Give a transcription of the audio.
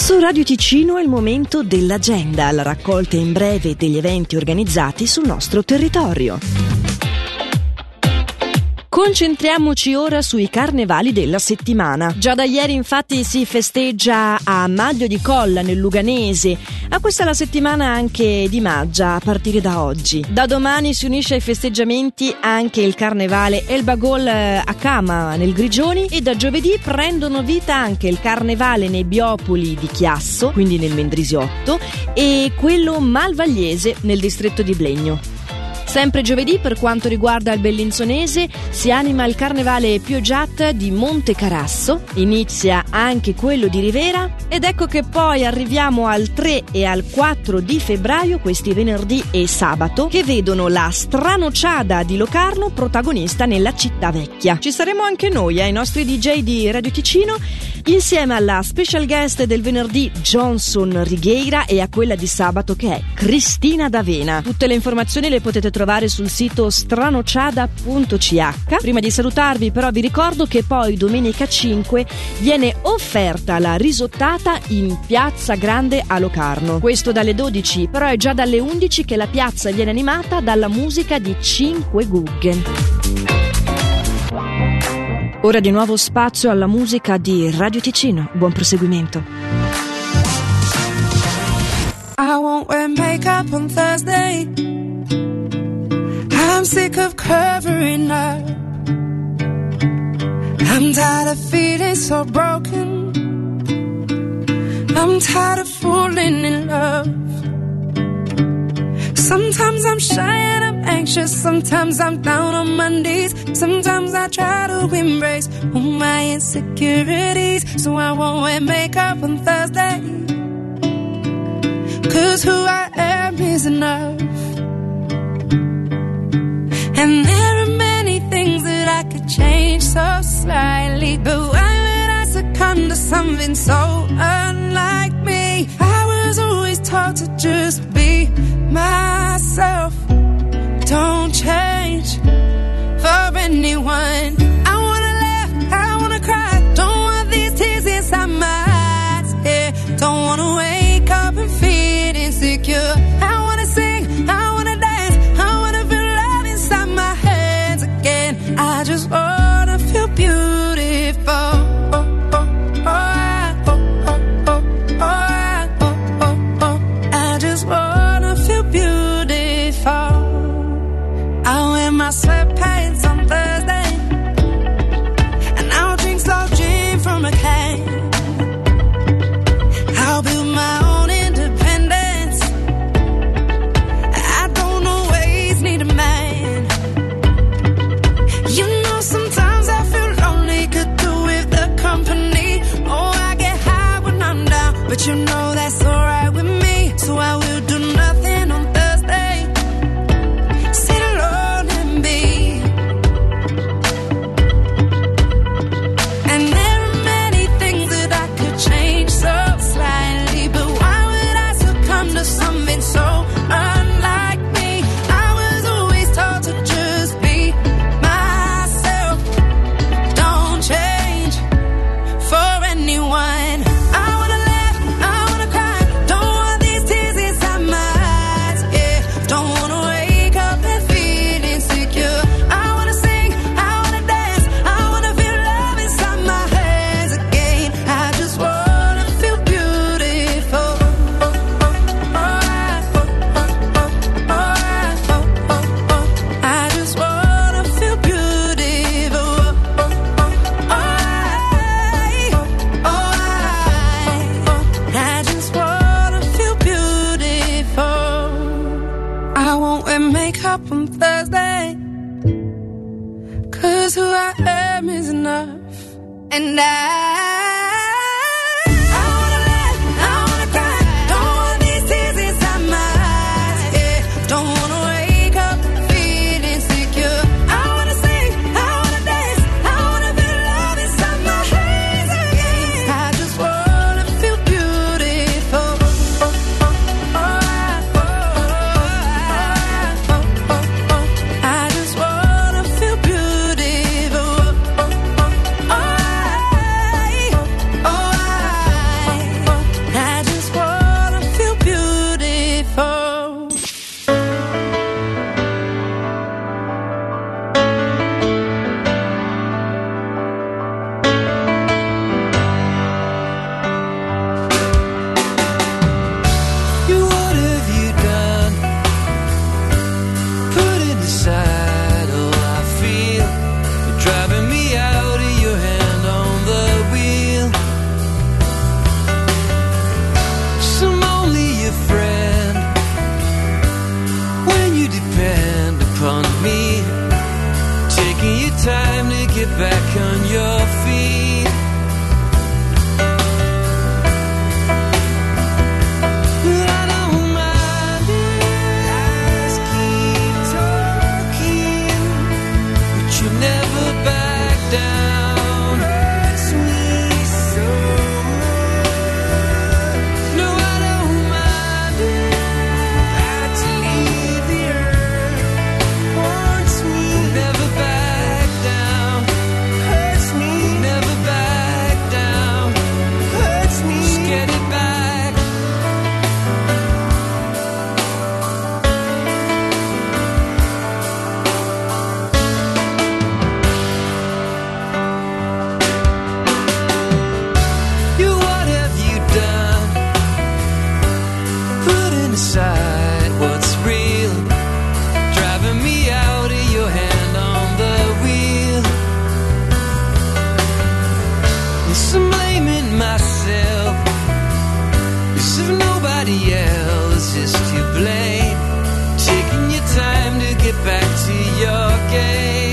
Su Radio Ticino è il momento dell'agenda, la raccolta in breve degli eventi organizzati sul nostro territorio. Concentriamoci ora sui carnevali della settimana. Già da ieri infatti si festeggia a Maglio di Colla nel Luganese. A questa la settimana anche di Maggia a partire da oggi. Da domani si unisce ai festeggiamenti anche il carnevale El Bagol a Cama nel Grigioni e da giovedì prendono vita anche il carnevale Nebbiopoli di Chiasso, quindi nel Mendrisiotto, e quello Malvagliese nel distretto di Blegno. Sempre giovedì, per quanto riguarda il Bellinzonese, si anima il carnevale Piogiat di Monte Carasso, inizia anche quello di Rivera ed ecco che poi arriviamo al 3 e al 4 di febbraio, questi venerdì e sabato, che vedono la Stranociada di Locarno protagonista nella città vecchia. Ci saremo anche noi, ai nostri DJ di Radio Ticino, insieme alla special guest del venerdì Johnson Righeira e a quella di sabato che è Cristina D'Avena. Tutte le informazioni le potete trovare sul sito stranociada.ch. Prima di salutarvi però vi ricordo che poi domenica 5 viene offerta la risottata in Piazza Grande a Locarno. Questo dalle 12, però è già dalle 11 che la piazza viene animata dalla musica di 5 Guggen. Ora di nuovo spazio alla musica di Radio Ticino. Buon proseguimento. I won't wear makeup on Thursday. I'm sick of covering up. I'm tired of feeling so broken. I'm tired of falling in love. Sometimes I'm shy and I'm anxious. Sometimes I'm down on my knees. Sometimes I try to embrace all my insecurities. So I won't wear makeup on Thursday, 'cause who I am is enough. And there are many things that I could change so slightly, but why would I succumb to something so unlike me? I was always taught to just be myself. Don't change for anyone. I wanna laugh, I wanna cry. Don't want these tears inside my eyes, yeah. Don't wanna wake up and feel insecure. I wanna sing, I wanna dance, I wanna feel love inside my hands again. I just wanna feel beautiful. I just wanna feel beautiful. I wear my sweatpants on Thursday, and I'll drink slow gin from a can. I'll build my own independence. I don't always need a man. You know, sometimes I feel lonely, could do with the company. Oh, I get high when I'm down, but you know that's alright with me. So I will do nothing on Thursday. Sit alone and be. And there are many things that I could change so slightly, but why would I succumb to something so unlike me? I was always taught to just be myself. Don't change for anyone. I wanna laugh, I wanna cry. Don't want these tears inside my eyes, yeah. Don't wanna wake up and feel insecure. I wanna sing, I wanna dance, I wanna feel love inside my hands again. I just wanna feel beautiful. I just wanna feel beautiful. I just wanna feel beautiful. I won't wear makeup on Thursday, 'cause who I am is enough. And I wanna laugh, I wanna cry. Don't want these tears inside my eyes, yeah. Don't wanna wake up and feel insecure. I wanna sing, I wanna dance, I wanna feel love inside my hands again. I just wanna feel beautiful. I just wanna feel beautiful. I decide what's real, driving me out of your hand on the wheel. Yes, I'm blaming myself, 'cause if nobody else is to blame, taking your time to get back to your game.